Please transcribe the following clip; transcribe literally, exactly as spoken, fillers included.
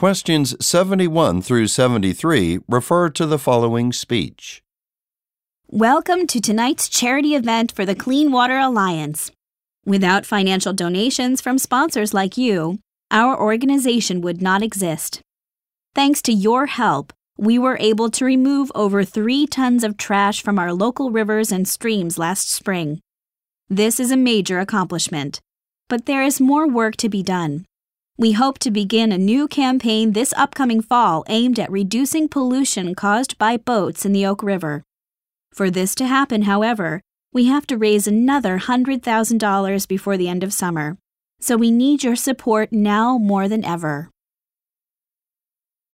Questions seventy-one through seventy-three refer to the following speech. Welcome to tonight's charity event for the Clean Water Alliance. Without financial donations from sponsors like you, our organization would not exist. Thanks to your help, we were able to remove over three tons of trash from our local rivers and streams last spring. This is a major accomplishment, but there is more work to be done. We hope to begin a new campaign this upcoming fall aimed at reducing pollution caused by boats in the Oak River. For this to happen, however, we have to raise another one hundred thousand dollars before the end of summer, so we need your support now more than ever.